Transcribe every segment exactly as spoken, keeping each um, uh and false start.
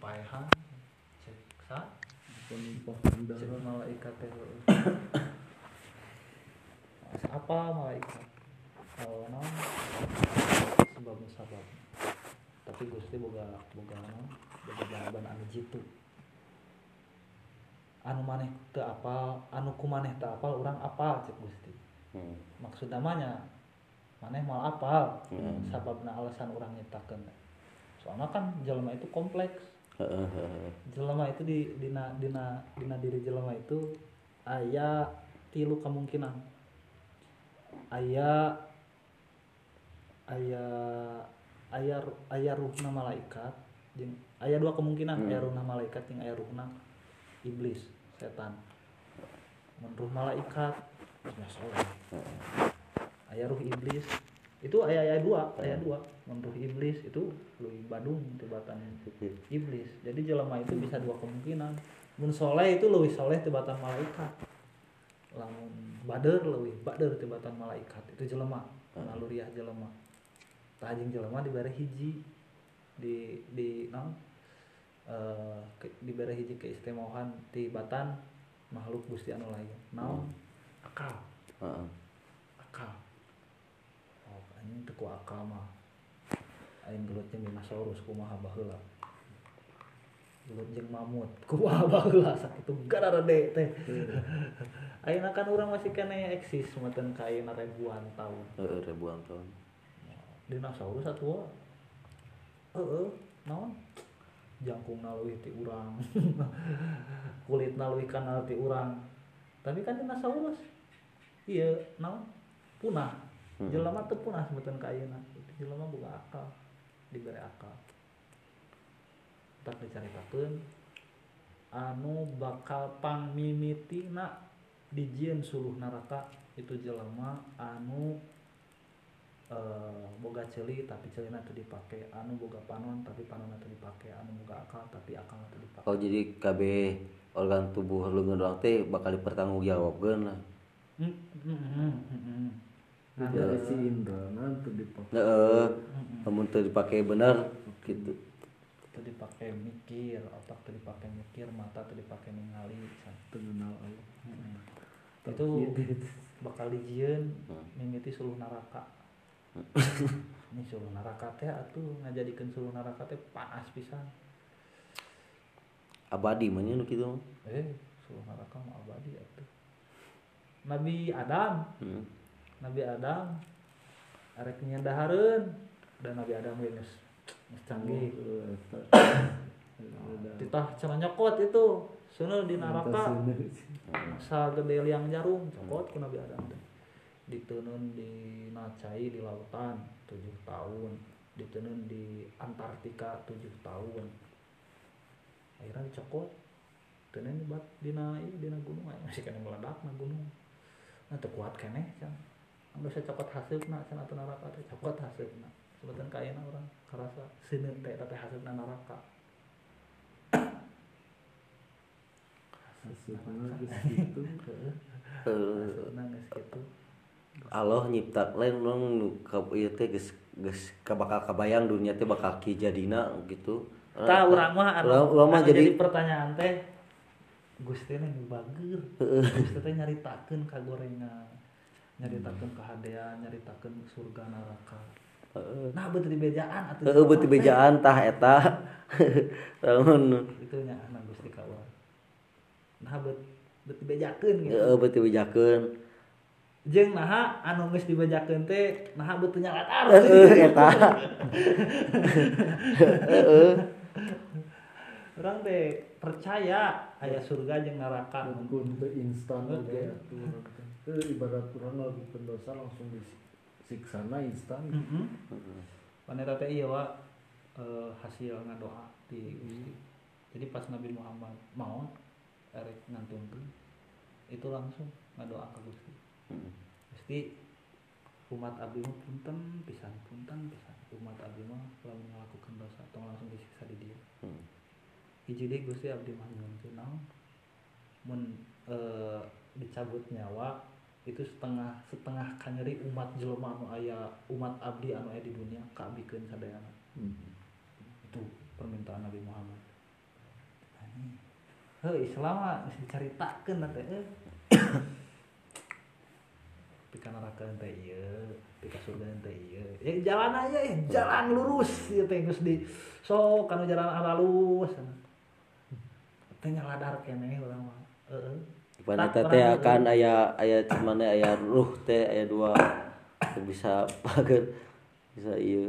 paehan cek sa penumpang cek kendaraan malaikat teh apa malaikat oh naon sebab musabab tapi Gusti boga boga naon boga jawaban anu jitu anu maneh teu apal anu kumaneh teu apal urang apal cek Gusti Hmm. maksud namanya maneh mal apal Hmm. sababna alasan urang nyiptakeun soalnya kan jelema itu kompleks Heeh, heeh. jelema itu di dina dina dina diri jelema itu aya tilu kemungkinan aya aya aya aya ruhna malaikat jeung aya dua kemungkinan Hmm. aya ruhna malaikat jeung aya ruhna iblis setan mun ruh malaikat ya soleh aya ruh iblis itu aya aya dua aya dua mun ruh iblis itu leuwih badung tibatan iblis jadi jelema itu bisa dua kemungkinan mun soleh itu leuwih soleh tibatan malaikat lamun bader leuwih bader tibatan malaikat itu jelema naluriah jelema tah jeung jelema dibere hiji di di naon eh dibere hiji keistimewaan tibatan makhluk Gusti anu lain naon akal Heeh. akal oh anjing teu ku akal mah aing gelut jeung dinosaurus kumaha baheula gelut jeung mamut kumaha baheula sakitu gararede teh ayeuna kan urang masih keneh eksis meuteun ka ayeuna ribuan tahun Heeh, ribuan tahun. dinosaurus atuh heeh naon jangkungna leuwih ti urang kulitna leuwih kanal ti urang tapi kan dinosaurus ieu naon punah jelema teu punah sebutan ka ayeuna jelema boga akal dibere akal tak dicaritakeun anu bakal pangmimitina dijieun suluh neraka itu jelema anu Uh, boga ceuli tapi ceulina teu dipake anu boga panon tapi panonna teu dipake anu boga akal tapi akalna teu dipake Oh jadi kabeh organ tubuh leungeun urang teh bakal dipertanggungjawabkeun lah. heeh heeh heeh dari si Indra nanti dipakai Heeh. Lamun teu dipake bener gitu. teu dipake mikir otak teu dipake mikir mata teu dipake ningali terkenal Allah heeh itu bakal dijieun mimiti suluh neraka ini suluh neraka teh atuh ngajadikeun suluh neraka teh panas pisan Abadi mah nya nu kitu mah. eh suluh neraka mah abadi atuh Nabi Adam Heeh. Nabi Adam arek nyendahareun dan Nabi Adam we geus geus canggih ditah cenah nyokot itu seuneu di neraka sagede liang jarum cokot ku Nabi Adam teh diteunun di Nacai di lautan tujuh tahun diteunun di Antartika tujuh tahun akhirnya dicokot teunun di bat dina ieu dina gunung masih kena meledakna gunung nah teu kuat keneh can anu saya cokot haseupna can atuh neraka teh cokot haseupna sebutan ka ayeuna urang karasa seuneut teh eta teh haseupna neraka hasilnya gitu heeh Heeh. haseupna geus kitu Allah nyipta lain urang nu ka ieu teh geus geus bakal kabayang dunia teh bakal ki jadina gitu. tah urang mah anu Urang- urang mah anu jadi jadi pertanyaan teh Gusti teh nu bageur Gusti teh nyaritakeun kagorengan nyaritakeun kahadean nyaritakeun surga neraka heeh. nah beuti bejaan atuh Heeh beuti bejaan tah eta. Lamun itu nya nah Gusti ka urang nah beut beuti bejakeun gitu heeh beuti bejakeun. jeung naha anu geus dibejakeun teh naha beuti nyalatar Heeh eta. Heeh. urang teh percaya aya surga jeung neraka kun teu instan oge atuh urang teh teu ibarat urang ngalakukeun dosa langsung disiksana instan heeh paneta teh ieu wa eh, hasil ngadoa ti Gusti jadi pas Nabi Muhammad maot erek ngantunkeun itu langsung ngadoa ka Gusti Gusti umat abdi mah punten pisan punten pisan umat abdi mah lamun ngalakukeun dosa tong langsung disiksa di dieu Hmm. hiji deui Gusti abdi mah nyuwunkeun naon mun eh, dicabut nyawa itu setengah setengah kanyeri umat jelema anu aya umat abdi anu aya di dunia kaabdikeun sadayana Hmm. itu permintaan Nabi Muhammad heuh Islam mah geus dicaritakeun na teh euy pika neraka teh ieu pika surga teh ieu ya jalan aja ya jalan lurus ieu teh geus di sok kana jalan halus teh nyaladar keneh urang mah heeh Pada teh akan aya aya cuman aya ruh teh aya dua bisa pager bisa ieu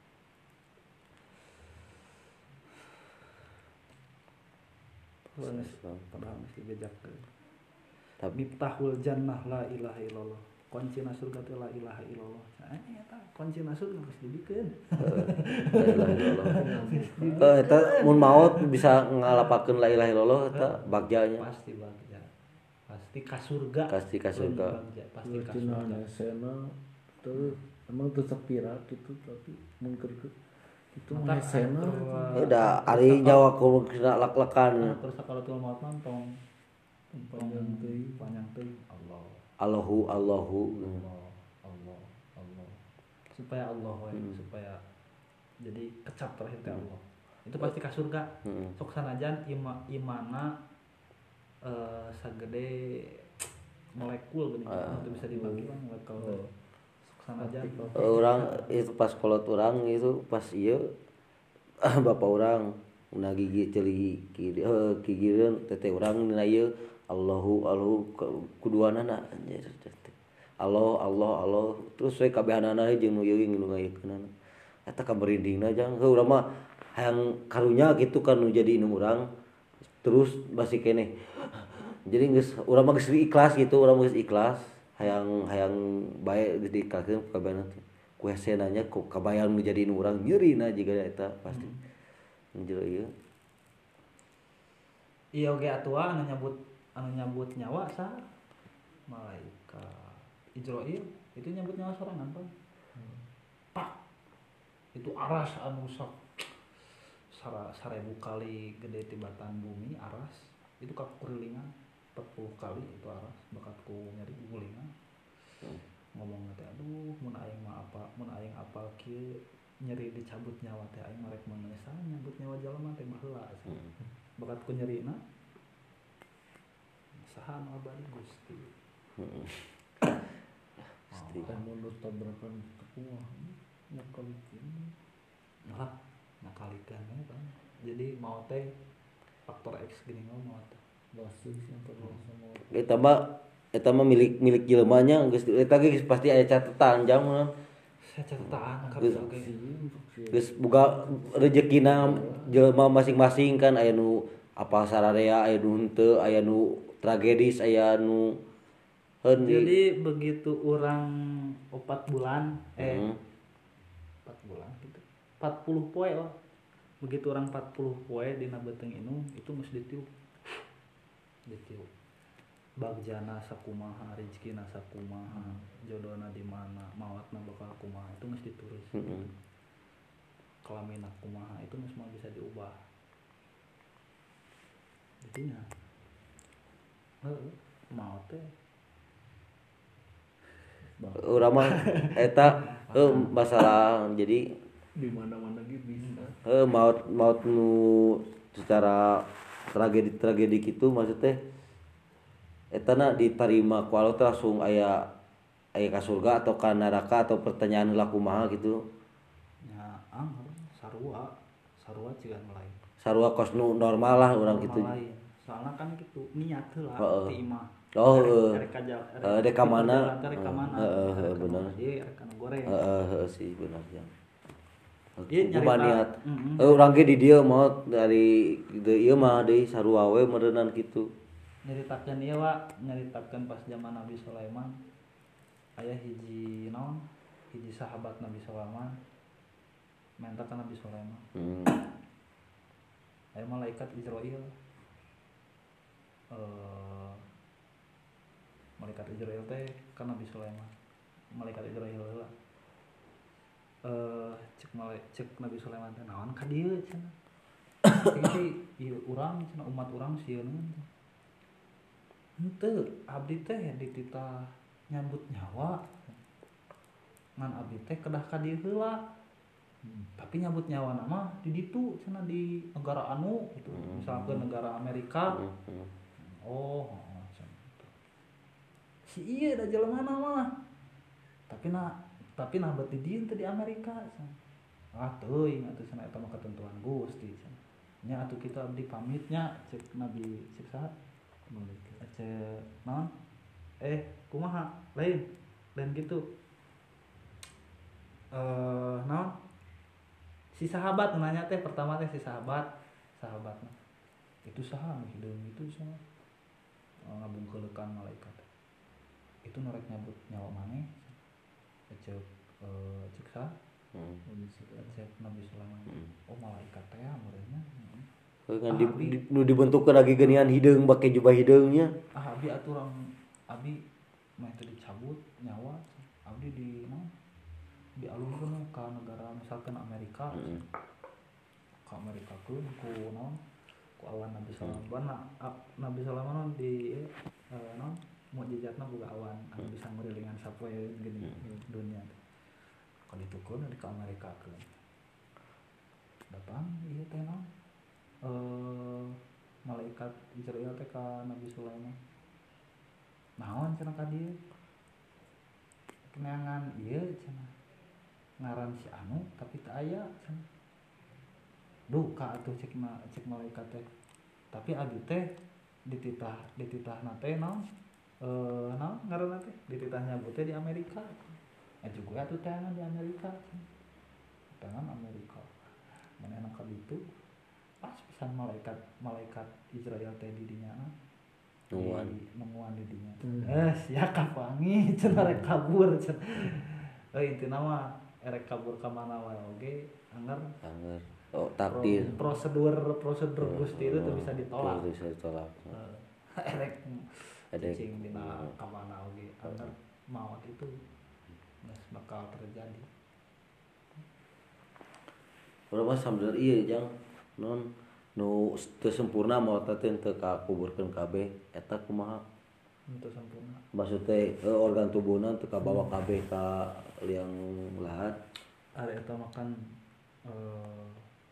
padahal mesti bejak tapi miftahul jannah la ilaha illallah kuncina surga teh la ilaha illallah nah eta kuncina surga geus dibikeun la ilaha illallah eta mun maot bisa ngalapakeun la ilaha illallah eta bagjanya pasti bagja pasti ka surga pasti ka surga pasti ka Cina surga sena tuh emang tuh sepira gitu tapi mungkin itu Mata mah sena udah ari nyawa ku kena lak-lakan terus sakaratul maut mantong panjang teuing panjang teuing Allah Allahu Allahu Allah Allah Allah supaya Allah we Hmm. supaya jadi kecap terakhir teh Allah itu pasti ka surga heeh sok sanajan ima imana eh sagede molekul geuning Ah. itu bisa dibagi lah molekul teh sok sanajan orang itu pas kolot orang itu pas ieu bapak orang na gigi ceuli kiri eh kigireun teteh urang dina ieu Allahu Allahu kuduanana anjir Allah Allah Allah terus we kabehanana jeung nu yeuing nu ngayekeunana eta kamerindingna jang heuh urang mah hayang karunya gitu kan nu jadi inu urang terus basi keneh jadi geus urang mah geus ikhlas gitu urang geus ikhlas hayang hayang bae geus diikhlaskeun kabehana teh ku hese nanya ku kabayang nu jadi inu urang nyeurina jiga eta pasti anjir ieu iya oge atua anu nyebut anu nyebut nyawa sah malaikat Israil itu nyebut nyawa sorangan Pak. Pak itu aras anu sak sara sarebu kali gede tibatan bumi aras itu kakurilingan empat puluh kali itu aras bakatku nyari gulingan ngomong teh aduh mun aing mah apa mun aing apal kieu nyeri dicabut nyawa teh aing marek manesa nyabut nyawa jalma teh baheula bakatku nyerina saha anu abadi Gusti heeh pasti kan mundur tabrakan tekuah nyakalikin nah nakalikeun we Bang jadi mau teh faktor X gini mau teh basis yang terus sama eta mah eta mah milik milik jelemanya geus eta ge pasti aya catetan jang mun saya catatan Geus- karena oge geus boga rezekina jelema masing-masing kan aya nu apa sararea aya nu henteu aya nu tragedis aya nu heun di jadi begitu orang empat bulan eh Hmm. empat bulan gitu empat puluh poe lah begitu orang empat puluh poe dina beteng inu itu mesti ditiup ditiup bagjana sakumaha rezekina sakumaha jodohna di mana maotna bakal kumaha itu mesti ditulis Heeh. kelamina kumaha itu mesti semua bisa diubah jadinya heeh maot teh urang mah eta heuh masalah jadi di mana-mana gitu bisa heuh maut maut nu secara tragedi tragedi gitu maksud teh eta na diterima ku Allah teh langsung aya aya ka surga atau ka neraka atau pertanyaan heula kumaha gitu nya anggar sarua sarua cigan lain sarua kos nu normal lah urang gitu lain soalnya kan gitu niat heula Heeh. ti imah Oh, Erek- heeh. erek kaja Heeh, dek ka mana? erek ka mana Heeh, heeh, Erek ka bener. mana, ieu erek kana goreng heeh heeh sih benar jang Ieu Kumaha nyarita- niat Mm-mm. eh urang ge di dieu mah dari dieu ieu mah deui sarua we meureunnan kitu nyeritakeun ieu wa nyeritakeun pas zaman Nabi Sulaiman aya hiji naon hiji sahabat Nabi Sulaiman minta ka Nabi Sulaiman hmm. aya malaikat Israil eh malaikat Israil teh ka Nabi Sulaiman malaikat Israil heula eh cek malai cek Nabi Sulaiman teh naon ka dieu cenah ini sih ieu urang cenah umat urang sieun henteu abdi teh dititah nyambut nyawa ngan abdi teh kedah ka dieu heula Tapi nyabut nyawa nama di ditu cenah di negara anu itu misalkan negara Amerika. Oh, oh cenah. Si ieu da jelema mah. Tapi na tapi nah bet di dieu teh di Amerika cenah. Ah teuing atuh cenah eta mah ketentuan Gusti cenah. Nya atuh kita abdi pamitnya cek Nabi cek saha? Cek naon? Eh, kumaha? Lain. Lain gitu. Eh, naon? Si sahabat nanya teh pertama teh si sahabat sahabat itu saha hideung itu saha ngabungkeulekan malaikat itu norek nyabut nyawa maneh cek eh, cek saha hmm. cek Nabi Sulaiman hmm. Oh malaikat teh meureunna kan di, di, nu dibentukkeun lagi geuningan hideung bake jubah hideungnya ah abi aturan abi mah itu dicabut nyawa abdi di naon dialungkeun ke negara misalkan Amerika mm. ke Amerika keun ku naon ku awan Nabi Sulaiman mm. Nabi Sulaiman di eh, naon mukjizatna boga awan anu mm. bisa ngeurelingan sapoe gini mm. dunia ka ditu keun di ka Amerika keun datang ieu teh naon eh malaikat Israel teh ka Nabi Sulaiman naon cenah ka dieu kenangan ieu cenah ngaran si anu tapi tak aya duka atuh cek ma, cek malaikat teh tapi abi teh dititah dititah nate naon eh naon ngaranna teh dititah nyabut teh di Amerika eh juga atuh tangan di Amerika tangan Amerika mana enak ka ditu pas pisan malaikat malaikat Israel teh di dinya nungguan nungguan di dinya eh sia kapangi cenah rek kabur cenah euy intina mah erek kabur ka mana wae oge anger anger oh takdir prosedur prosedur Gusti itu tuh bisa ditolak bisa ditolak erek cicing dina ka mana oge anger maut itu geus bakal terjadi urang mah sambener ieu jang non nu teu sempurna maot teh teu kakuburkeun kabeh eta kumaha teu sempurna maksud teh organ tubuhna teu kabawa kabeh ka liang lahat are eta makan eh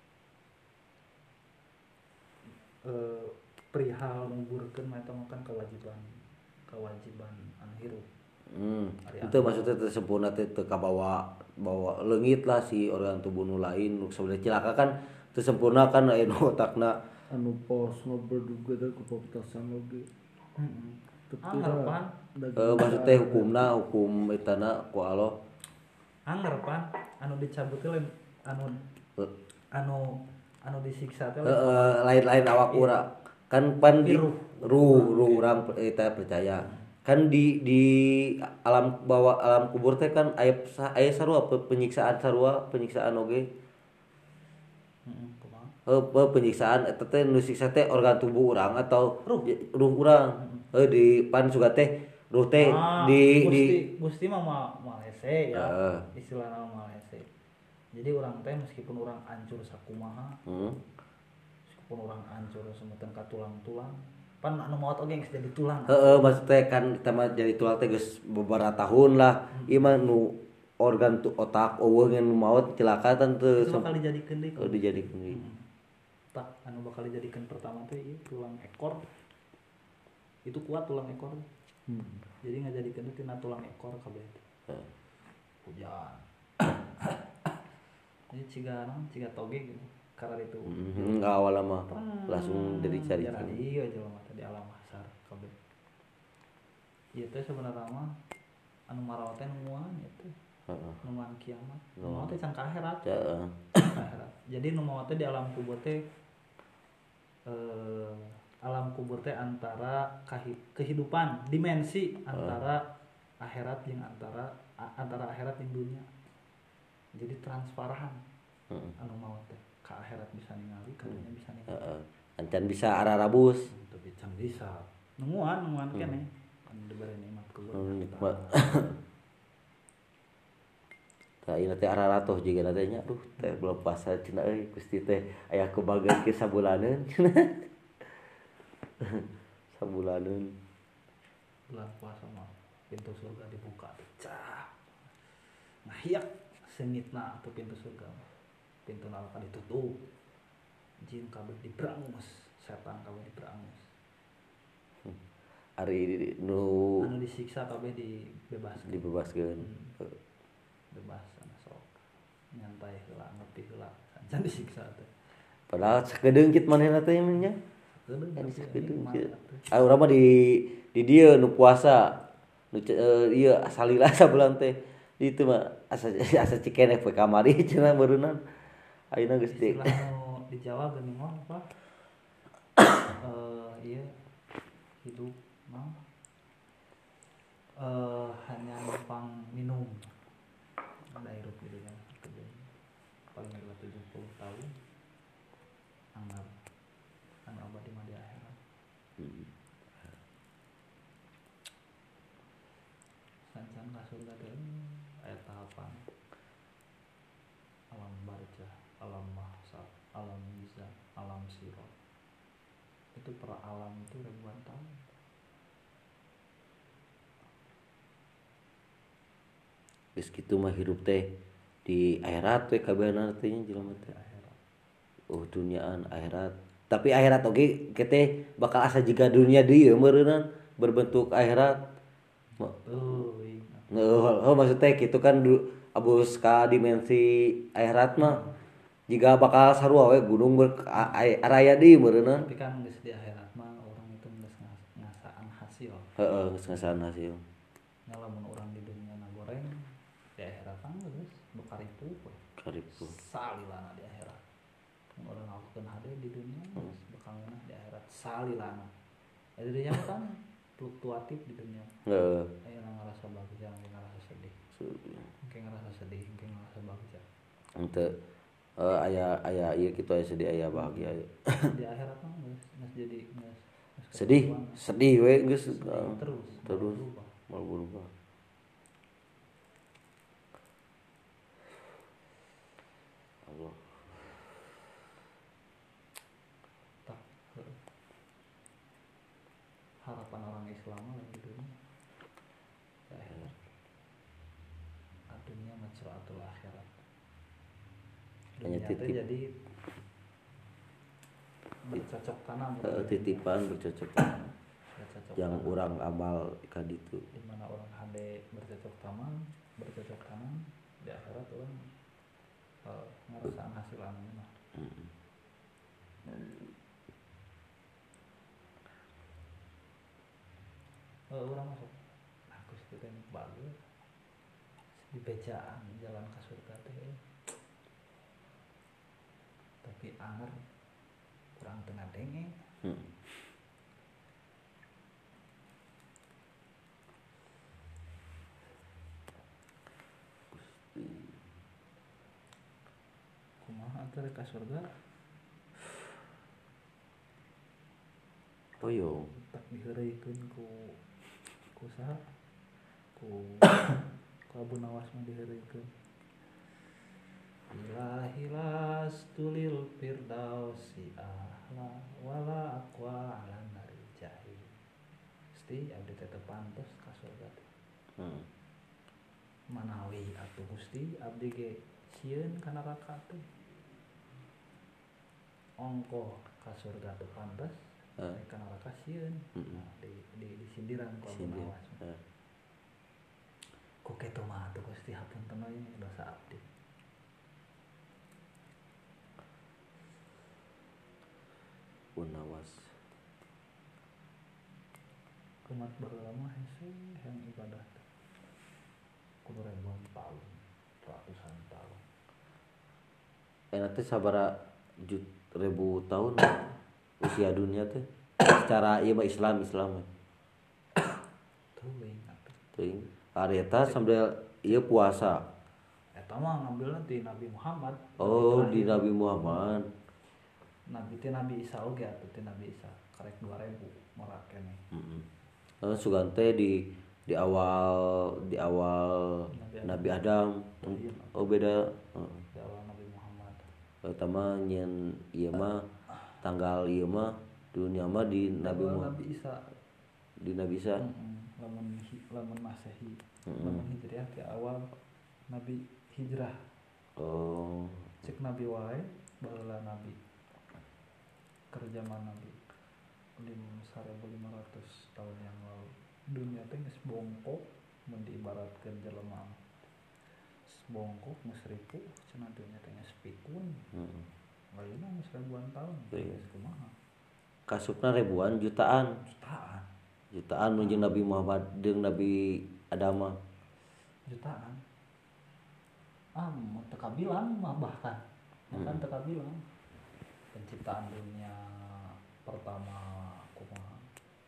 eh perihal nguburkeun mah eta makan kewajiban kewajiban anu hirup hmm itu maksudnya teu sempurna teh teu kabawa bawa leungit lah si organ tubuh nu lain nu sabada cilaka kan teu sempurna kan aya nu otakna anu pos ngobrol teh ku poptasan oge heeh anggapan eh maksudnya hukumna hukum etana ku Allah anggapan anu dicabut teh anu anu anu disiksa teh heeh lain-lain awak urang kan pan di ruh ruh urang eta percaya kan di di alam bawah alam kubur teh kan aya aya sarua penyiksaan sarua penyiksaan oge heeh kumaha penyiksaan eta teh nu siksa teh organ tubuh urang atau ruh ruh urang heuh di pan suga teh ruh teh ah, di Gusti, di Gusti mah mal hese ya uh. istilahna mal hese jadi urang teh meskipun urang hancur sakumaha hmm. meskipun urang hancur semeuten ka tulang-tulang pan anu maot oge geus jadi tulang heeh maksud teh kan eta mah jadi tulang teh geus beberapa tahun lah hmm. ieu mah nu organ tu otak eueuh ngan maot celaka tan teu bakal dijadikeun deui oh dijadikeun deui hmm. tak anu bakal dijadikeun pertama teh ieu tulang ekor itu kuat tulang ekor hmm. jadi ngajadikeun tina tulang ekor kabeh hmm. hujan jadi ciga naon ciga toge gitu karena itu hmm, enggak awal mah langsung dari cari jadi iya aja mah tadi alam mahsyar kabeh ieu teh sebenarnya mah anu marawat teh nungguan itu heeh nungguan kiamat nungguan teh can ka akhirat heeh akhirat jadi nungguan teh di alam kubur teh eh alam kubur teh antara kehidupan dimensi antara uh. akhirat jeung antara antara akhirat jeung dunia jadi transparan uh. anu maot teh ka akhirat bisa ningali ka dunia bisa ningali heeh uh. ancan bisa ararabus tapi can bisa nunguan nunguan hmm. keneh anu dibere nikmat kubur hmm, nikmat tah ieu teh araratoh jiga teh nya duh teh belum puasa cenah euy Gusti teh aya kebageun ke sabulaneun sabulaneun bulan puasa mah pintu surga dibuka cah ngahiak semitna atau pintu surga pintu neraka ditutup, jin kabeh diberangus, setan kabeh diberangus, Ari nu anu disiksa kabeh dibebaskeun. dibebaskeun. Hmm. Bebas anu sok nyantai heula ngopi heula can disiksa teh. Padahal sakedeungkit manehna teh nya. Kedeung Kan tapi sakedeungkit. nikmat atuh. Ah urang mah di di dieu nu puasa. Nu uh, ieu salila sabulan teh. Di itu mah asa asa cikeneh poe kamari cenah beureunan. Ayeuna geus teh. Istilah nu di Jawa geuning mah apa? Eh ieu hidup mah eh hanya numpang minum. Ada hirup gitu kan. Paling adalah tujuh puluh tahun. Anggap anu abadi mah di akhirat. Hmm. Sancan ka surga teh aya tahapan. Alam barzah, alam mahsyar, alam mizan, alam sirat. Itu per alam itu ribuan tahun. Geus kitu mah hirup teh di akhirat we kabehna teh jelema teh. Oh duniaan akhirat. Tapi akhirat oge kete bakal asa jiga dunia dieu meureunnan berbentuk akhirat. Oh, ingat. Oh, oh maksudnya gitu kan du, abus ka dimensi akhirat mah jika bakal sarua we gunung ber araya di meureunnan. Tapi kan geus di akhirat mah orang itu geus ngasaan hasil. Heeh, geus ngasaan hasil. Nya lamun urang di dunia na goreng di akhirat mah geus bukaripu we. Karipu. Salilana di akhirat. Mun urang ngakukeun hade di dunia geus bakal ngeunah di akhirat salilana. Jadi dia kan fluktuatif di dunia. Heeh. Aya nu ngarasa bagja, aya ngarasa sedih. Engke ngarasa sedih, engke ngarasa bagja. Henteu uh, aya aya ieu kitu aya sedih aya bahagia. Di akhirat mah geus geus jadi geus Sedih, sedih we geus terus terus berubah. mal berubah. Allah. Tak harapan orang Islam lagi dunia di akhirat. Adunya mazraatul akhirat. Hanya Dunia teh titip. jadi bercocok tanam. Heeh, titipan bercocok tanam. Bercocok Yang tanam. urang amal ka ditu. Di mana orang hade bercocok tanam, bercocok tanam di akhirat orang uh, ngarasaan hasil anu mah. Heeh. Uh, orang masuk aku sih teh bagus di bejaan jalan ke surga teh tapi anger kurang tengah denge. Hmm. Kumaha atuh rek ka surga Toyo. tak diheureukeun ku ku saha ku ku Abu Nawas mah diheureukeun ilahilas tulil firdausi ahla wala aqwa ala nari jahil Gusti abdi teh teu pantes ka surga teh Hmm. manawi atuh Gusti abdi ge sieun ka neraka teh ongko ka surga teu pantes Uh. ka neraka sieun. Mm-mm. Nah, di di disindiran ku Abu Sindir. Nawas Uh. ku kitu mah atuh Gusti hapunten we dosa abdi. Unawas. Umat baheula mah hese yang ibadah teh kudu ribuan tahun, ratusan tahun. Enak teh sabara jut ribu tahun usia dunia teh secara ieu mah Islam Islam Teuing atuh. teuing ari eta sambil ieu puasa. Eta mah ngambilna ti Nabi Muhammad. Oh Nabi di terakhir. Nabi Muhammad. Nabi ti Nabi Isa oge atuh ti Nabi Isa karek dua ribu morat keneh. Heeh. Heeh sugan teh di di awal di awal Nabi Nabi Adam. Oh beda. Heeh. Di awal Nabi Muhammad. Eta mah nyen ieu mah tanggal ieu mah dunia mah di Nabi Awal Muhammad Nabi Isa. di Nabi Isa. Heeh. Lamun hi- lamun Masehi. Heeh. Lamun Hijriah ti awal Nabi hijrah. Oh cek nabi wae baheula nabi kerja mana nabi lim seribu lima ratus tahun yang lalu dunia teh geus bongkok mun diibaratkeun jelema bongkok geus ripuh cenah dunia teh geus pikun Heeh. ayeuna geus ribuan tahun Iya. geus kumaha Kasupna ribuan jutaan jutaan jutaan menuju Nabi Muhammad jeung Nabi Adam mah. jutaan ah mau teka bilang mah bahkan bahkan teka bilang penciptaan dunia pertama kumaha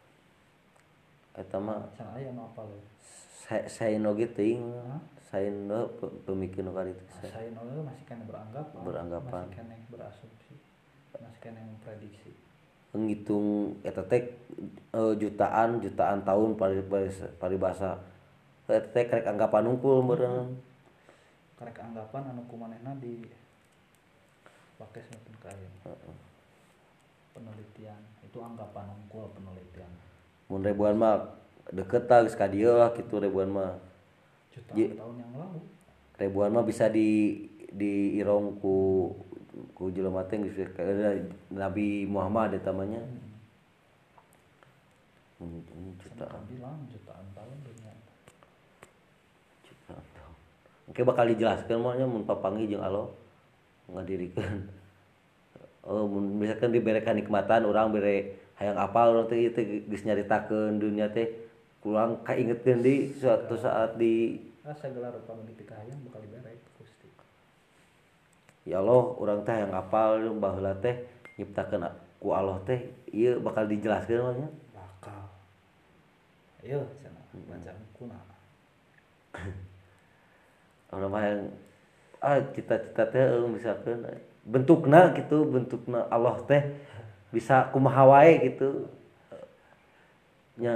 Eta mah can aya nu apal we sa- saeno ge teuing Hah? saeno pe- pemikir nu kaditu saya nol masih kena beranggapan Beranggapan. masih kena berasumsi masih kena memprediksi ngitung eta teh eh, jutaan jutaan tahun pari pari- paribasa eta teh karek anggapan unggul meureun karek anggapan anu kumanehna di pakai semakin kaya penelitian itu anggapan unggul penelitian mun ribuan mah deket lah geus ka dieu lah kitu ribuan mah jutaan Ye- tahun yang lalu ribuan mah bisa di di irong ku ku jelema teh geus ka- Nabi Muhammad eta mah nya Hmm, ini jutaan jutaan bilang jutaan tahun dunia jutaan tahun oke bakal dijelaskeun mah nya mun papanggih jeung Allah ngadirikeun oh mun misalkan dibere kanikmatan urang bere hayang apal urang teh ieu teh geus nyaritakeun dunia teh kurang kaingetkeun di suatu saat di ah segala rupa nu dipikahayang bakal dibere ku Gusti ya Allah urang teh hayang apal baheula teh nyiptakeun ku Allah teh ieu bakal dijelaskeun mah nya bakal ayo cenah baca kuna urang mah hayang ah cita-cita teh eh, misalkan bentukna gitu bentukna Allah teh bisa kumaha wae gitu nya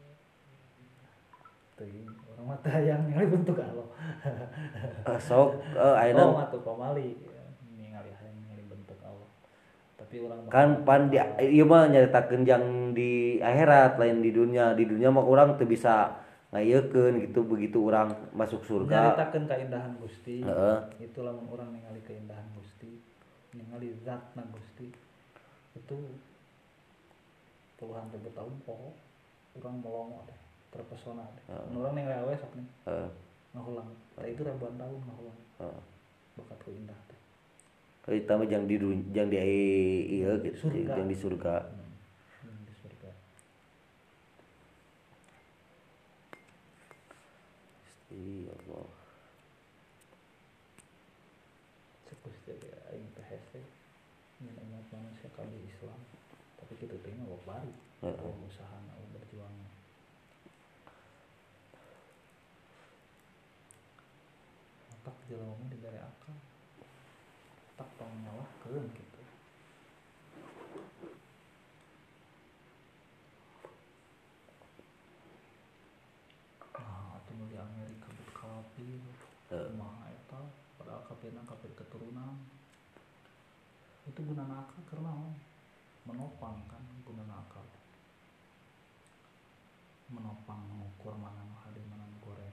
teuing urang mah teh hayang ningali bentuk Allah eh, sok eh, ayeuna oh matu pamali ningali hayang ningali bentuk Allah tapi urang mah kan pan di ieu mah nyaritakeun jang di akhirat lain di dunia di dunia mah urang teu bisa ngayekeun gitu begitu urang masuk surga nyaritakeun kaindahan Gusti heeh itu lamun urang ningali keindahan Gusti ningali zatna Gusti itu puluhan ribu tahun poho urang melongo deh terpesona deh mun urang ningali awe sok nih heeh ngahulang tah itu ribuan tahun ngahulang heeh bakat ku indah teh kita mah jang di dun- jang di ieu gitu Surga. jang di surga hmm. hmm, di surga iya Allah cek Gusti ge aing teh hese nyen umat manusia kabeh Islam tapi kitu teh mah bari Heeh. oh usahana oh berjuang maka jelema mah dibere akal tak tong nyalahkeun gitu nah atuh nu di Amerika bet kafir Heeh. kumaha eta padahal kafirna kafir keturunan itu gunana akal karena naon? Menopang kan gunana akal menopang mengukur mana nu hade mana nu goreng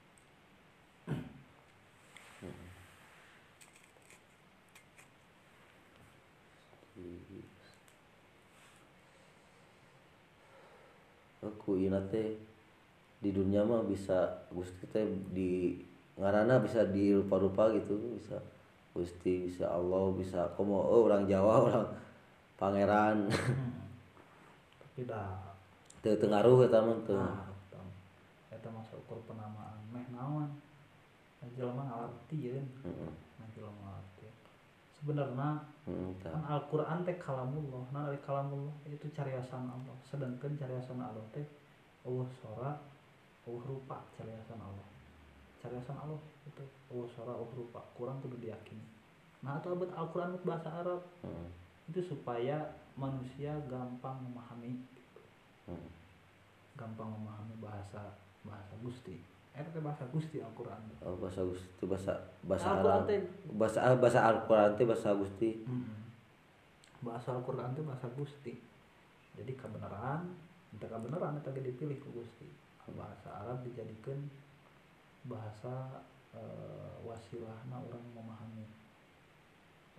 aku ieu teh di dunia mah bisa Gusti teh di ngaranna bisa di rupa-rupa gitu bisa Gusti bisa Allah bisa komo oh, orang Jawa orang pangeran hmm. tapi dah teu teu ngaruh eta mah teu nah eta eta masa ukur penamaan meh naon jelema ngalartieun heeh nah jelema ngalartieun sebenarnya heeh tah kan Al-Qur'an teh kalamullah nah dari kalamullah itu cariasan Allah sedangkan cariasan Allah teh Allah sora Allah rupa cariasan Allah cariasan Allah itu Allah sora Allah rupa kurang kudu diyakini nah atau abad Al-Qur'an bahasa Arab heeh itu supaya manusia gampang memahami heeh gampang memahami bahasa bahasa Gusti eta teh bahasa Gusti Al-Qur'an oh, bahasa Gusti bahasa bahasa Al-Qur'an Arab teh bahasa ah, bahasa Al-Qur'an teh bahasa Gusti mm-mm. bahasa Al-Qur'an teh bahasa Gusti jadi kebenaran entah kebenaran eta ge dipilih ku Gusti bahasa Arab dijadikan bahasa e, wasilahna orang memahami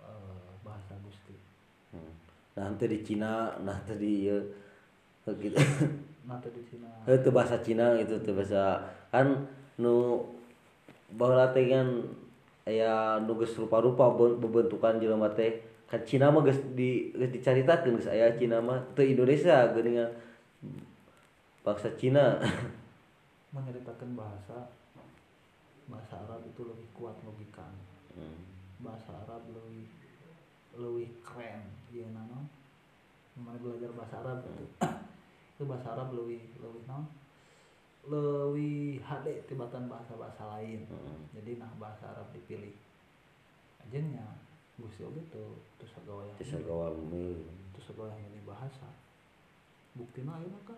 eh, bahasa Gusti. Hmm. Nah teu di Cina, nah teu di ieu gitu. Nah teu di Cina. Itu bahasa Cina itu teu bahasa kan nu baheula teh kan aya nu geus rupa-rupa bebentukan jelema teh. Kan Cina mah geus di geus dicaritakeun geus aya Cina mah teu Indonesia geuningan bangsa Cina. Menceritakan bahasa bahasa Arab itu lebih kuat logikanya. Hmm. Bahasa Arab lebih lebih keren ya nano. Mana belajar bahasa Arab itu itu bahasa Arab lebih lebih non lebih H D tibatan bahasa-bahasa lain. Hmm. Jadi nah bahasa Arab dipilih ajennya Gusti oge tuh terus sagawaya Bisa gawal milih. terus sagawaya ini bahasa buktina ayeuna kan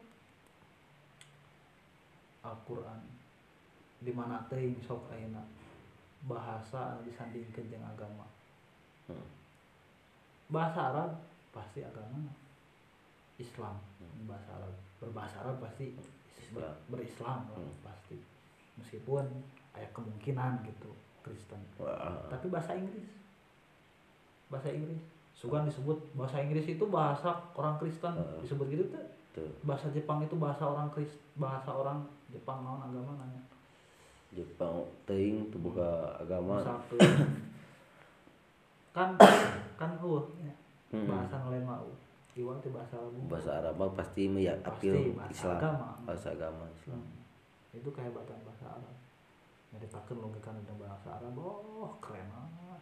Al-Qur'an di mana teuing sok ayeuna bahasa anu disandingkeun jeung agama. Hmm. Bahasa Arab pasti agama Islam. Bahasa Arab berbahasa Arab pasti ber, berislam lah, Hmm. pasti meskipun ada kemungkinan gitu Kristen. Wah. Tapi bahasa Inggris bahasa Inggris sugan disebut bahasa Inggris itu bahasa orang Kristen Uh. disebut gitu tuh. Tuh. Bahasa Jepang itu bahasa orang Kristen, bahasa orang Jepang naon agama nanya Jepang teuing teu boga agama. satu kan kan uh Hmm. bahasa nu lain mah uh iwal teh bahasa Arab Bahasa Arab mah pasti mah ya Pasti, apil bahasa Islam. agama. Bahasa agama Islam. Hmm. Itu kehebatan bahasa Arab. Nyaritakeun logika dengan bahasa Arab, oh keren banget.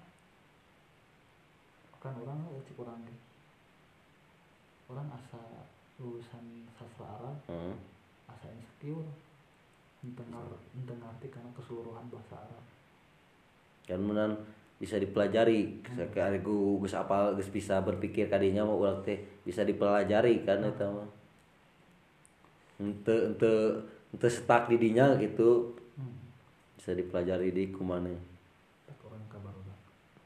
Kan orang cik orang ge. Orang asa lulusan sastra Arab, Hmm. asa insecure. Henteu henteu ngarti karena keseluruhan bahasa Arab. Kan menan bisa dipelajari. Sakali ku geus apal geus bisa berpikir kadinya mah urang teh bisa dipelajari kan eta mah. Henteu henteu henteu stuck di dinya gitu. Hmm. Bisa dipelajari di kumaneh. Tak orang ka barudak.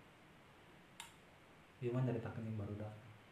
Ieu mah nyaritakeun yang barudak.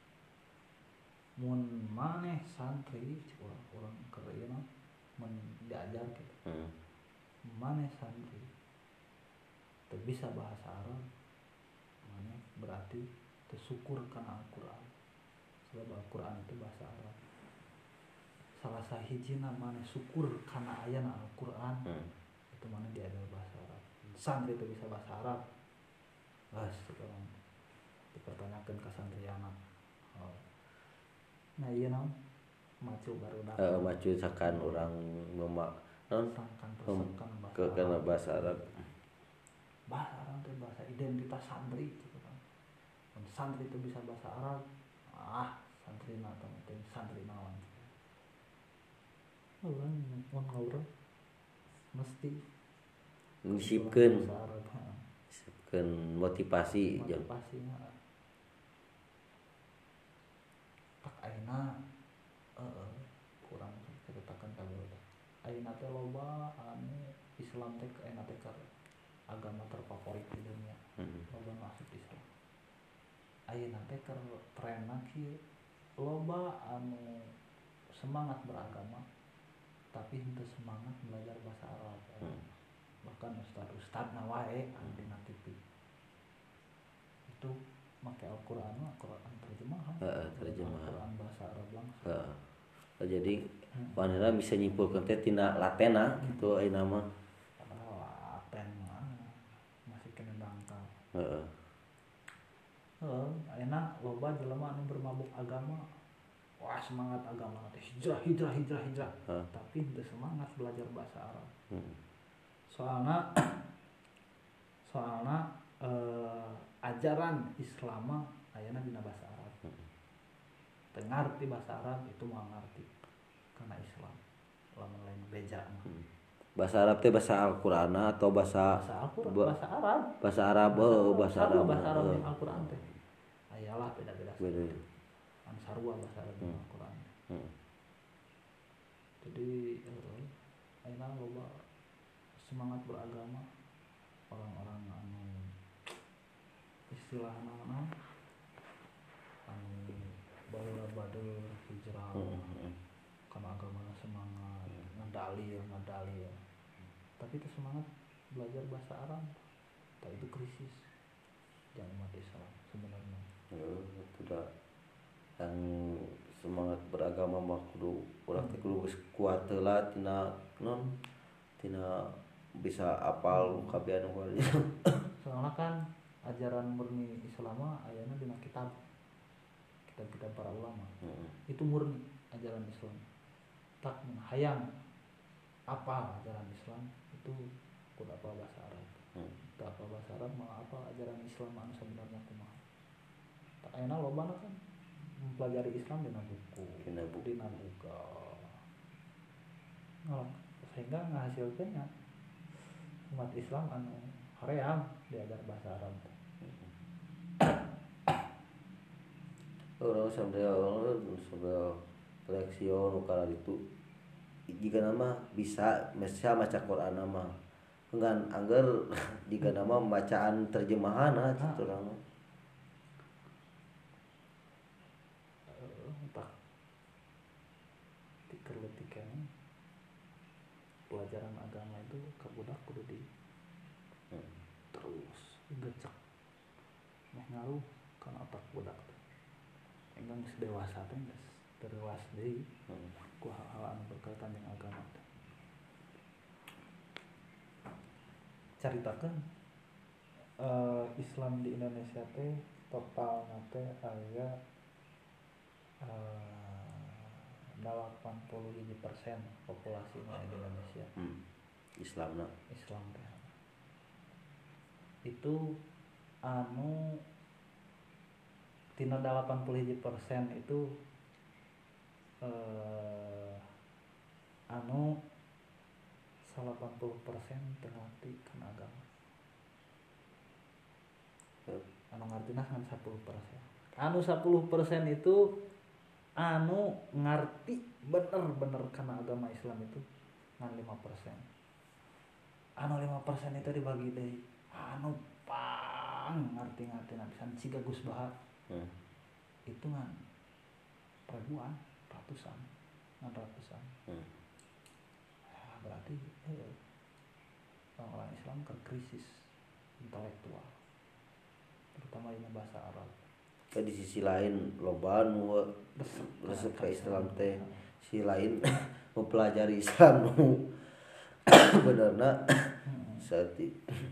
Mun maneh santri cik urang urang keur ieu mah mun diajar gitu. Hmm. Maneh santri teu bisa bahasa Arab maneh berarti teu syukur kana Al-Qur'an. Sebab Al-Qur'an itu bahasa Arab. Salah sahijina maneh syukur kana ayana Al-Qur'an. Hmm. Itu mana diajar bahasa Arab. Santri itu bisa bahasa Arab. Bas sekarang dipertanyakan ke santriana. Oh. Nah iya naon macu baru Eh datang. maju sakan urang mema non Sangkan Mem- tersekan bahasa ke kana Arab. bahasa Arab. Bahasa Arab itu bahasa identitas santri gitu kan. Dan santri itu bisa bahasa Arab. Ah, santri na atau santri naon. Orang mun ngaurang mesti Nyisipkeun bahasa Arab. Ha. nyisipkeun motivasi jeung Motivasinya tak ayeuna heeh kurang ceritakan ka barudak. Ayeuna teh loba anu Islam teh ayeuna teh keur agama terfavorit di dunia. Hmm. Loba masuk Islam. Ayeuna teh keur trenna kieu loba anu semangat beragama tapi henteu semangat belajar bahasa Arab. Hmm. Bahkan ustad-ustadna wae anu dina T V itu make Al-Qur'an mah Al-Qur'an terjemahan. Heeh, terjemahan. Al-Qur'an bahasa Arab langsung. Heeh. Jadi Hmm. panera bisa nyimpulkeun teh tina latena gitu ayeuna mah. Padahal laten mah masih kena dangkal. Heeh. Heeh, ayeuna loba jelema anu bermabuk agama. Wah, semangat agama teh hijrah hijrah hijrah hijrah. Heeh. Tapi henteu semangat belajar bahasa Arab. Hmm. Soalna soalna eh, ajaran Islam ayeuna dina bahasa Arab. Teu ngarti bahasa Arab itu mah ngarti karena Islam. Lamun lain beja mah. Bahasa Arab teh bahasa Al-Qur'an atau bahasa Bahasa Al-Qur'an, ba- bahasa Arab. bahasa Arab oh bahasa Sarua Arab. bahasa Arab Heeh. jeung Al-Qur'an teh. Ayalah beda-beda. Beda. An sarua bahasa Arab jeung Hmm. Al-Qur'an. Hmm. Jadi eh, ayeuna loba semangat beragama orang-orang anu istilahna naon anu baheula bader hijrah Hmm. karena agamana semangat ngedalil ngedalil tapi itu semangat belajar bahasa Arab tak itu krisis jangan umat Islam sebenarnya. Ya, tidak yang semangat beragama mah kudu urang teh kudu geus kuat heula tina non tina bisa apal kabeh anu warnya. Soalnya kan ajaran murni Islam mah ayana dina kitab kitab-kitab para ulama. Heeh. Itu murni ajaran Islam. Tak hayang apa ajaran Islam itu kudu apa bahasa Arab. Hmm. Tak apa bahasa Arab mah apa ajaran Islam anu sebenarnya kumaha. Tak ayeuna lobana kan mempelajari Islam dina buku, Dina buku. dina buka. Ngalak sehingga ngahasilkeunnya umat Islam anu hoream diajar bahasa Arab. Orang sampai orang sampai reaksio nu kana ditu jika nama bisa bisa maca Quran nama enggan angger jika nama bacaan terjemahan ah gitu urang mah. Entah tiker-tikan pelajaran agama itu ke budak kudu di Hmm. terus gecek meh ngaruh kana otak budak teh enggang geus dewasa teh geus terlewas deui Hmm. ku hal-hal anu berkaitan dengan agama teh. Caritakeun eh, Islam di Indonesia teh totalna teh aya eh, delapan puluh lima persen populasi di Indonesia Hmm. Islamna Islam teh. Itu anu tina delapan puluh lima persen itu eh, anu delapan puluh persen terlatih kana agama. Yep. Anu ngartina kan sepuluh persen. Anu sepuluh persen itu anu ngarti bener-bener kana agama Islam itu ngan lima persen. Anu lima persen itu dibagi deui anu pang ngarti-ngartina pisan siga Gus Bahar. Hmm. Itu ngan ribuan, ratusan, ngan ratusan. Hmm. Ya, berarti eh, orang-orang Islam ke krisis intelektual, terutama ini bahasa Arab. Tapi di sisi lain loba nu Resep, resep kan, ka Islam teh, Islam. si lain mempelajari Islam nu benerna Hmm. sati.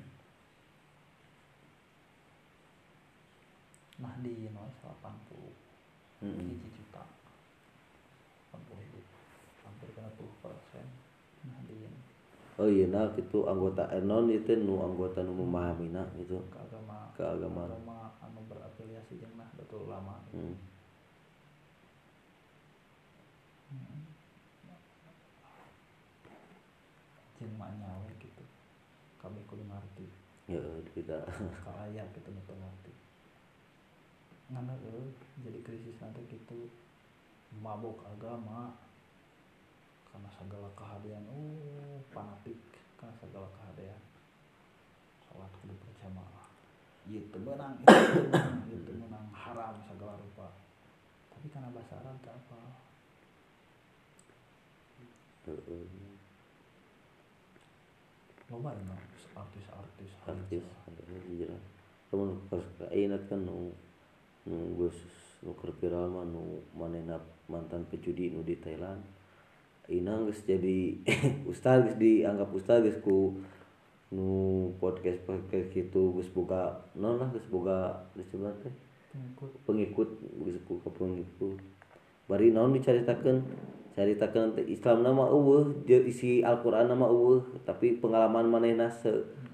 Nah di noise delapan puluh Hmm. hiji juta, delapan puluh ribu, hampir kena puluh persen. Nah di Oh iya nah gitu anggota enon itu nu anggota nu memahami nah gitu keagama keagamaan. agama anu berafiliasi jeung Nahdlatul Ulama. Hmm. Hmm. Jeung manyawe gitu. Kami kudu ngarti. Ya tidak. Kalaya gitu nu teu ngarti. Ngana eueuh jadi krisis nanti gitu mabok agama karena segala kehadian uh fanatik karena segala kehadian salat kudu berjamaah ieu teu meunang ieu teu meunang ieu teu meunang haram segala rupa tapi karena bahasa Arab teh apa Heeh. loba anu artis-artis Artis hijrah. Temen pas ingat kan nu nu geus nu keur viral mah nu manehna mantan pejudi nu di Thailand. Inang geus jadi ustaz geus dianggap ustaz geus ku nu podcast podcast kitu geus boga naon lah geus boga disebut teh pengikut pengikut geus boga pengikut. Bari naon dicaritakeun caritakeun teh Islam mah eueuh isi Al-Qur'an mah eueuh tapi pengalaman manehna se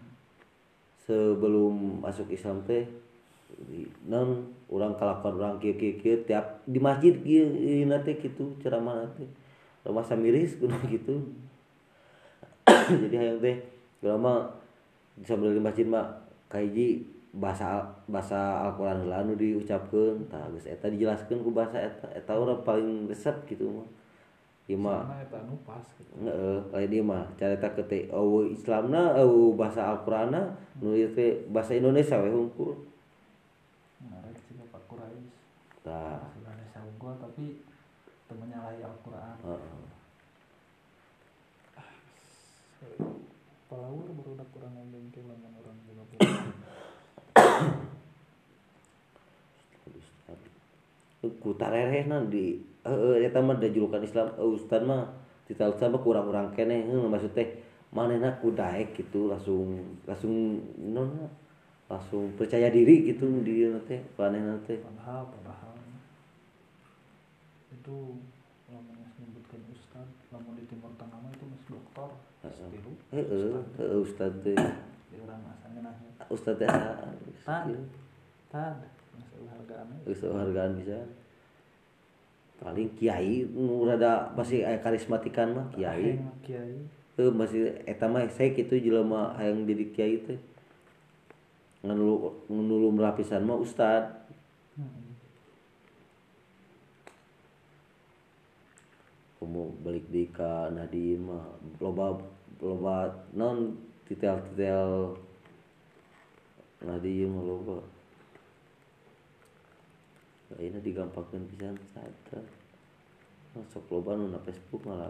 sebelum masuk Islam teh naon urang kalakuan urang kieu kieu kieu tiap di masjid kieu ieu teh kitu ceramah teh rumah samiris kudu gitu. Jadi hayang teh ulama sambil di masjid mah kahiji bahasa bahasa Al-Qur'an heula anu diucapkeun tah geus eta dijelaskeun ku bahasa eta eta urang paling resep gitu mah. Ieu mah sama eta anu pas gitu heeh lain ieu mah carita ke teh eueuh Islamna eueuh bahasa Al-Qur'anna nu ieu teh bahasa Indonesia we hungkul. menarik juga Pak Quraisy Tah Indonesia unggul tapi teu menyalahi Al-Qur'an. heeh. Palawur baru udah kurang ngomong ke lamun orang juga ku tarehna di heeh eta mah da julukan Islam ustad mah titah ustad mah kurang-kurang keneh heuh maksud teh manehna ku daek gitu langsung langsung non langsung percaya diri gitu di dieu teh manehna teh padahal padahal itu namanya menyebutkan ustad lamun di Timur Tengah mah itu mas doktor setilu heeh heeh ustad teh di orang asalnya nanya ustad teh tad tad masalah hargaan geus hargaan bisa paling kiai nu rada pasti aya karismatikan mah kiai kiai teu masih eta mah saya kitu jelema hayang jadi kiai teh nganulu nganulu merapisan mah ustad hmm. komo balik deui ka Nadiem mah loba loba non titel-titel Nadiem mah loba ayeuna digampangkeun pisan saeta sok loba nu na Facebook malah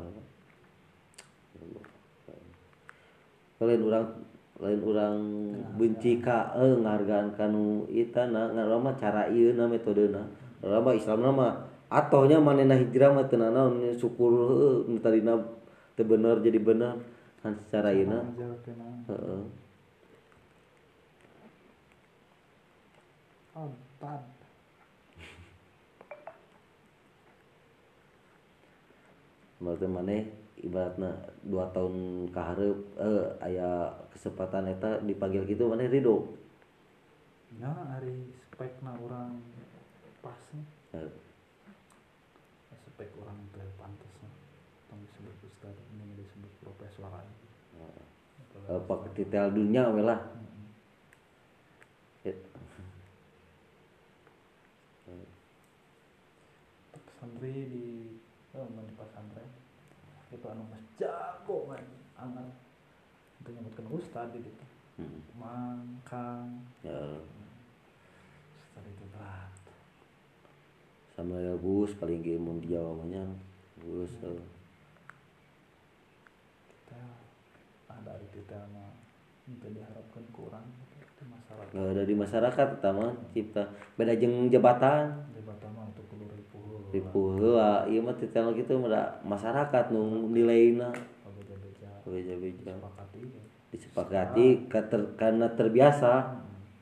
lain urang lain urang benci ka eh ngargaan kanu itana ngaranna mah cara ieu na metodena urang mah Islamna mah atohnya manehna hijrah mah teu naon syukur heuh nu tadina teu bener jadi bener kan secara ieu na heeh oh tad berarti maneh ibaratna dua tahun ka hareup eh aya kesempatan eta dipanggil kitu maneh ridho ya hari spekna orang pas eh, spek orang teh pantes tong disebut ustad ini disebut profesor aja apa titel dunia we lah santri di oh di pesantren itu anu mas jago man angan itu nyebutkan ustad di situ hmm. mangkang Ya ustad itu berat sama ya Gus paling ge mun di Jawa mah nya Gus eh. kita ada di kita mah itu diharapkan kurang itu masyarakat Nggak ada di masyarakat utama cipta beda jeung jabatan jabatan mah itu kudu ripuh ripuh heula ieu mah titel kitu mah masyarakat nu nileina beja-beja beja-beja disepakati disepakati kater, karena terbiasa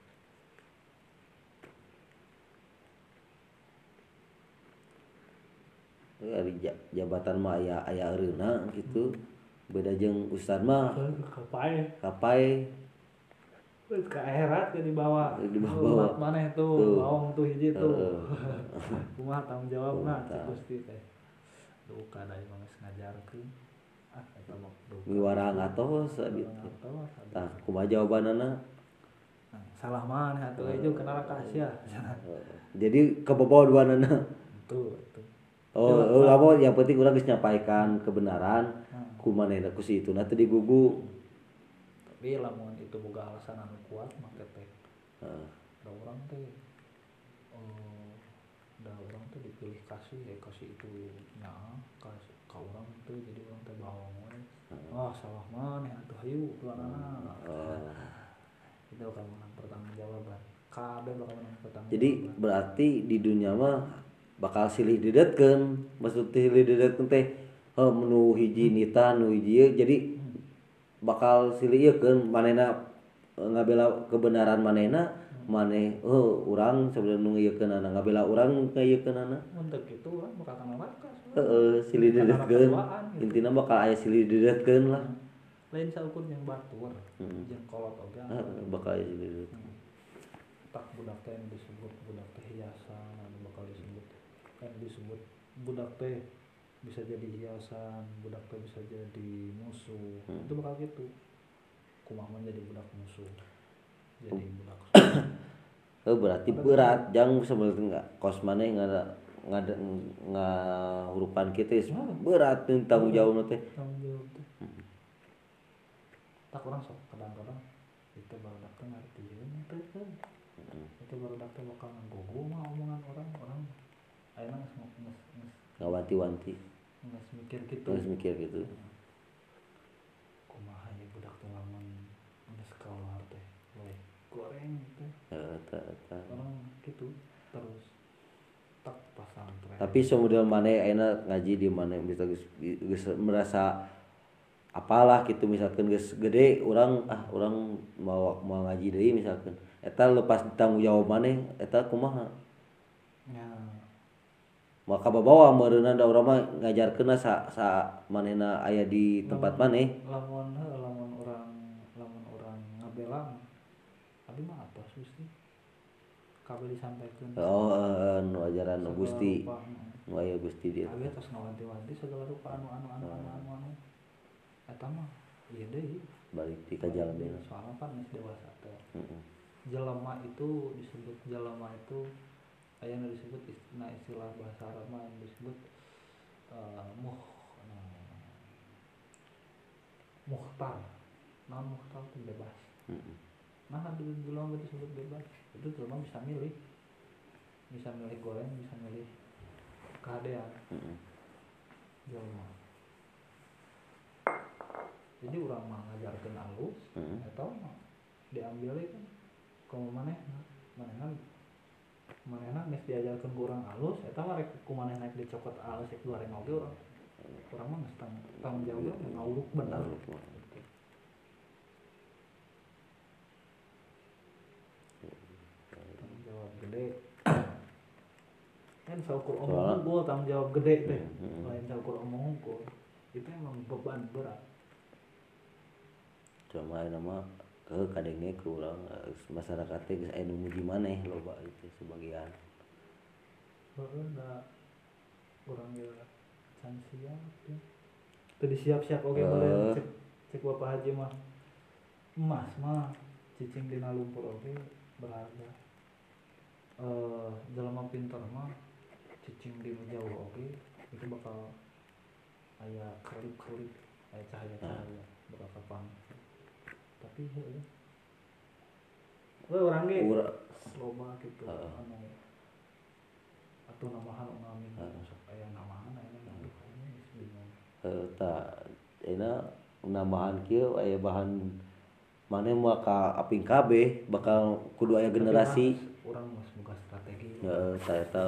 hmm. Ari jabatan mah aya aya eureuna gitu beda jeung ustad mah kapai kapai ke akhirat ke dibawa dibawa mana itu bawang tuh hiji tuh kumaha tanggung jawabna cik Gusti teh duka da imang geus ngajarkeun ah eta mah miwarang atos gitu tah kumaha jawabanana salah maneh atuh ieu kenal kasia jadi keboboh duanana itu itu oh oh apa yang penting urang geus nyampaikan kebenaran ku manehna ku si ituna teh digugu tapi lamun itu boga alasan anu kuat maka teh heeh da urang teh eh da urang teh dipilih kasih ya kasih itu nyaah ka ka urang teh jadi urang teh bawang we wah salah maneh atuh hayu duanana itu bakal menang pertanggungjawaban kabeh bakal menang pertanggungjawaban jadi berarti di dunia mah bakal silih didetkeun maksud silih didetkeun teh heuh nu hiji nita nu hiji jadi bakal silih ieu keun manehna ngabela kebenaran manehna maneh oh urang sebenarnya nu ngeukeunana ngabela urang ngeukeunana untuk itu urang bakal kana neraka heeh silih didetkeun intina bakal aya silih didetkeun lah lain saukur yang batur hmm. jeung kolot oge bakal aya silih didetkeun tak budak teh disebut budak teh hiasan anu bakal disebut kan disebut budak teh bisa jadi hiasan budak teh bisa jadi musuh hmm. itu bakal gitu kumaha menjadi budak musuh jadi budak oh berarti berat jang sebenarnya kos maneh ngada ngada ngahurupan kitu berat tanggung jawabna teh tanggung jawab teh tak urang sok kadang-kadang itu barudak teh ngartieun teh itu barudak teh bakal nganggugu mah omongan orang orang ayeuna geus geus ngawanti-wanti geus mikir kitu geus mikir gitu kumaha ya budak teh lamun geus kaluar teh we goreng teh heeh tah tah orang gitu terus tak pas pesantren. Tapi semodelna maneh ayeuna ngaji di mana bisa geus geus merasa apalah gitu misalkan geus gede urang ah urang mau mau ngaji deui misalkan eta lepas tanggung jawab maneh eta kumaha Ya, maka bawa meureunna da urang mah ngajarkeunna sa sa manehna aya di tempat maneh lamun heuh lamun orang lamun orang ngabelang abi mah apa sih kabeh disampaikan oh eh, nu ajaran nu segala Gusti rupa, nu aya Gusti dia abi tos ngawanti-wanti segala rupa anu anu anu anu anu anu eta mah ieu deui balik di ka jalan dia soalna kan geus dewasa teh heeh jelema itu disebut jelema itu aya nu disebut istilah istilah bahasa Arab mah disebut uh, muh uh, muhtar non muhtar itu bebas heeh nah di jelema itu disebut bebas itu jelema bisa milih bisa milih goreng bisa milih keadaan heeh jelema jadi urang mah ngajarkeun alus heeh atau diambil kan komo manehna manehna manehna geus diajarkeun ku urang alus eta mah rek kumaneh naik dicokot alus rek goreng oge urang urang mah geus tanggung jawab ngawuruk bener tanggung jawab gede kan saukur omong unggul tanggung jawab gede teh lain saukur omong unggul itu emang beban berat cuma ayeuna mah ke kadenge ke urang masyarakat teh geus aya nu muji maneh loba itu sebagian heueuh da urang ge can siap teh teu disiap-siap oge Uh. beureun cek cek Bapak Haji mah emas mah cicing dina lumpur oge berharga eh jelema pinter mah cicing dina jauh oge itu bakal aya kerlip-kerlip aya cahaya-cahaya bakal kapang tapi heueuh we urang ge Ura- loba gitu Heeh. anu atuh namahan ngamin Heeh. sok aya namahan aya aduh aya geus bingung eh ta ayeuna nambahan kieu aya bahan maneh mah ka aping kabeh bakal kudu aya generasi urang mah boga strategi heeh ta eta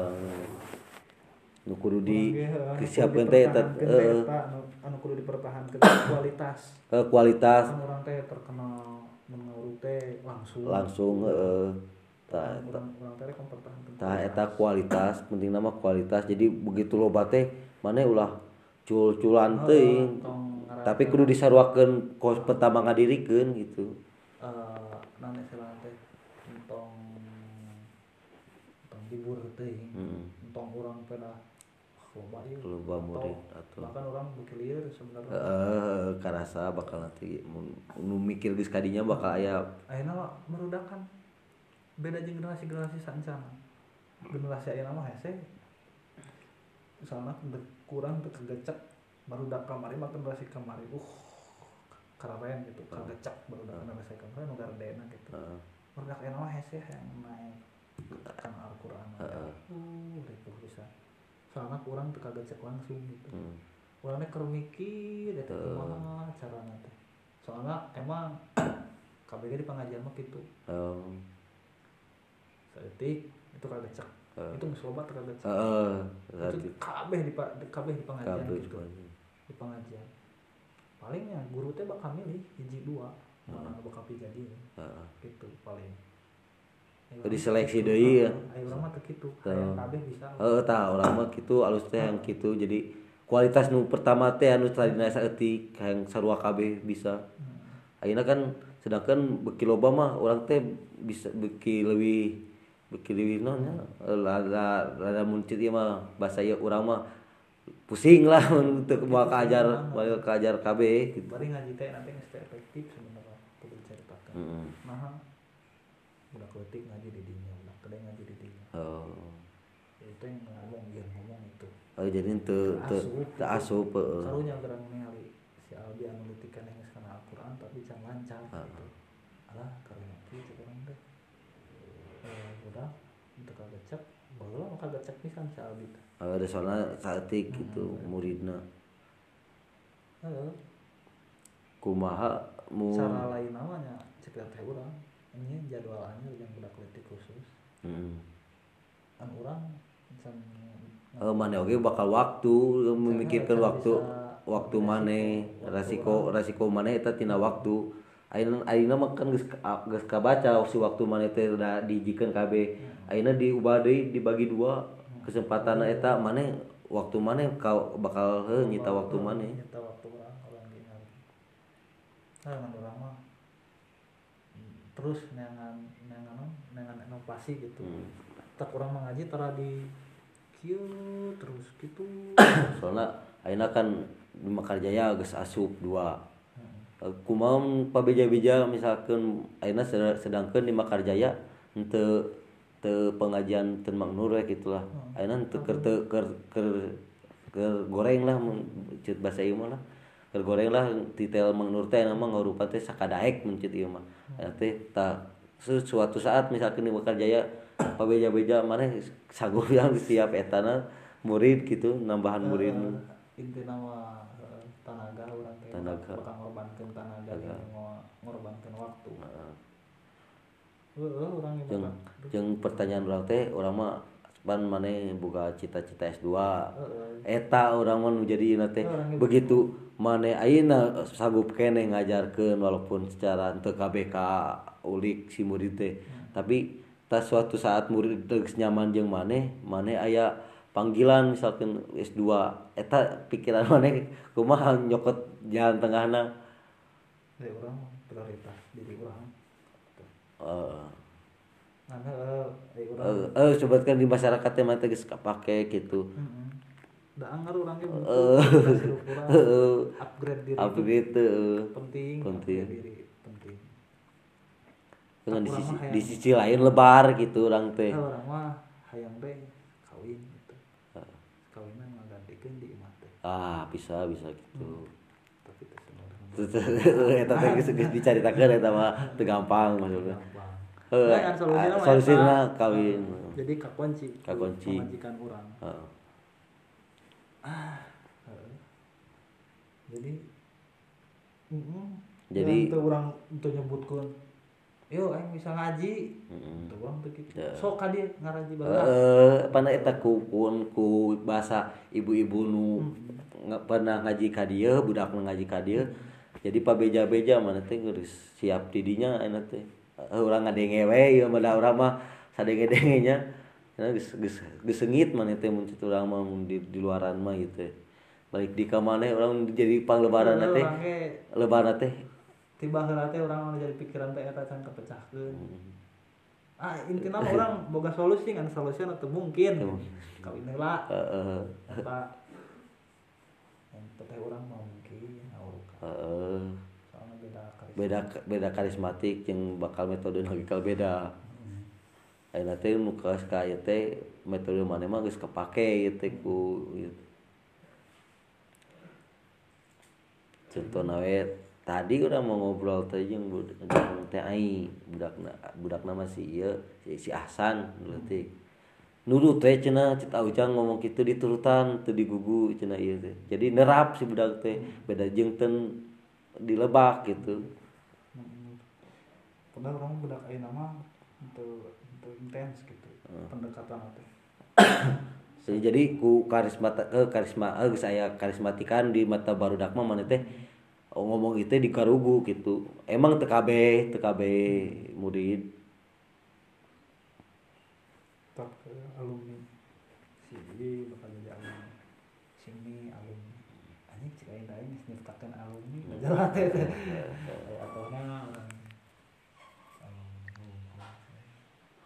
nu kudu di Urang ge, heuh, anu disiapkeun kudu teh eta dipertahankeun teh heeh eta, anu anu kudu dipertahankeun kualitas eh, kualitas kan urang teh terkenal menurut teh langsung langsung heeh ta eta urang urang teh rek mempertahankeun tah eta kualitas penting nama kualitas jadi begitu loba teh maneh ulah cul-culan teuing tapi kudu disaruakeun kos pertama ngadirikeun gitu eh naon istilah teh entong entong dibur teuing heeh entong urang peda loba ieu loba murid atuh bahkan orang berkelir sebenarnya heeh karasa bakal nanti mun nu mikir geus kadinya bakal aya ayeuna mah merudakan beda jeung generasi-generasi saencana generasi ayeuna mah hese misalna kurang teu kagecek barudak kamari mah generasi kamari uh keren gitu kagecek barudak generasi kamari nu gardena gitu heeh barudak ayeuna mah hese yang naik kan Al-Qur'an Heeh. uh itu bisa soalna kurang teu kagecek langsung gitu heeh urang teh keur mikir eta kumaha carana teh soalna emang K B G di pengajian mah kitu oh saeutik itu kagecek Heeh. itu geus loba teu kagecek heeh itu berarti kabeh di pa- kabeh di pengajian kabeh gitu di pengajian palingnya guru teh bakal milih hiji dua mana nu bakal pijadi heeh gitu paling Ayo Oh, urang diseleksi teh kitu. deui ya? Ayo urang mah teu kitu Teu. hayang kabeh bisa heeh tah urang mah kitu alus teh yang kitu jadi kualitas nu pertama teh anu tadina saeutik hayang sarua kabeh bisa Hmm. ayeuna kan sedangkan beki loba mah urang teh bisa beki leuwih beki leuwih naon nya rada rada muncit ieu mah bahasa ieu urang mah pusing lah untuk bawa kajar bawa kajar kabeh gitu bari ngaji teh nanti geus teu efektif sebenarnya kudu diceritakan heeh nah budak leutik ngaji di dinya budak gede ngaji di dinya oh itu yang ngomong yang ngomong itu oh jadi teu teu teu asup heeh karunya gerang ningali si Albi anu leutikan yang geus kana Al-Qur'an tapi can lancar gitu alah karunya kieu cek urang teh eh budak teu kagecek baheula mah kagecek pisan si Albi teh oh ada soalna saeutik gitu muridna heeh kumaha mu cara lain namanya cek teh urang ini jadwal anyar yang budak leutik khusus heeh kan urang can Eh, mana oke bakal waktu memikirkan Cara waktu bisa waktu mana resiko resiko mana eta tina waktu ayeuna ayeuna mah kan geus ka- geus kabaca si waktu mana teh udah dijikeun kabeh ayeuna diubah deui dibagi dua kesempatan eta mana waktu mana kau bakal heuh nyita waktu mana nyita waktu orang orang gini nah dengan orang mah hmm, terus nengan nengan nengan inovasi gitu Hmm. tak orang mengaji tara di kieu terus gitu soalnya ayeuna kan di Mekarjaya geus asup dua hmm. Eh, kumaha pabeja-beja misalkan ayeuna sed- sedangkeun di Mekarjaya henteu teu pengajian teu maknur we gitulah Hmm. ayeuna henteu keur teu keur keur keur goreng lah mun ceut bahasa ieu mah lah keur goreng lah titel maknur teh nama ngarupa teh sakadaek mun ceut ieu mah eta teh tah su- suatu saat misalkan di Mekarjaya pabeja-beja maneh sanggup yang siap etana murid gitu nambahan murid Uh, inti nama uh, tanaga orang teh Tanaga. bakal ngorbankeun tanaga Tanaga. jeung ngo- ngorbankeun waktu Heeh. heeh urang ge jeung bakal jeung pertanyaan urang teh urang mah pan maneh boga cita-cita S dua heeh eta urang mah nu jadi ieu teh Urang ge begitu maneh ayeuna sanggup keneh ngajarkeun walaupun secara teu kabeh ka ulik si murid teh tapi tas suatu saat murid teu geus nyaman jeung maneh maneh aya panggilan misalkan S dua eta pikiran maneh kumaha nyokot jalan tengahna dari urang prioritas diri urang eh nah heeh dari urang eh eh sebutkan di masyarakat teh mah teh geus kapake gitu heeh da anggar urang ge butuh Eh. hirup urang Heeh. upgrade diri apa itu gitu penting Penting. upgrade diri penting dengan di Urang sisi mah hayang- di sisi lain lebar gitu orang teh nah, urang mah hayang teh kawin gitu kawinan ngagantikeun di imah teh ah bisa bisa gitu tapi teh sebenarnya eta teh geus geus dicaritakeun eta mah teu gampang maksudnya gampang. Eh, Nah, kan solusina mah solusina eta. kawin. Heeh. Jadi kakunci. Kakunci. Pemajikan urang. Heeh. Heeh. Jadi heeh. Jadi- teu urang teu nyebutkeun. Yo aing bisa ngaji. Heeh. Teu urang teu kitu. Ya. Sok ka dieu ngaraji baheula. Eh, pana eta ku kun ku bahasa ibu-ibu nu nggak pernah ngaji ka dieu, budak nu ngaji ka dieu. Jadi pabeja-beja mana teh geus siap di dinya aya teh. Eh, urang ngadenge we ieu mah da urang mah sadenge-denge nya. Karena geus geus geus seungit mana teh mun kitu urang mah mun di, di luaran mah gitu. Balik di ka maneh urang jadi panglebaran teh. Urang ge Lebaran teh. tiba heula teh urang anu jadi pikiran teh eta can kepecahkeun. Hmm. Ah intina mah urang boga solusi kan solusinya teu mungkin. Teu. Kawin heula. Heeh. Eta yang teh urang mah mungkin ngawurukan. Heeh. Soalnya beda karisma. Beda beda karismatik jeung bakal metode nu bakal beda. Ayeuna teh nu kaos ka ieu teh metode maneh mah geus kapake ieu teh ku ieu. Contohna we tadi urang mau ngobrol teh jeung budak jeung teh ai budakna budakna mah si ieu si, si Ahsan leutik. Nurut teh cenah cita ujang ngomong kitu diturutan teu digugu cenah ieu teh. Jadi nerap si budak teh beda jeung ten dilebak gitu. Hmm. Padahal orang budak ayeuna mah untuk untuk intens gitu pendekatan teh. Jadi, jadi ku karisma ke karisma eh geus aya karismatikan di mata barudak mah maneh teh oh, ngomong itu di karugu gitu. Emang teu kabeh teu kabeh murid. Tak ke alumni sini bakal jadi alumni sini alumni anjing cik aing aing geus nyiptakeun alumni ngajalah teh teh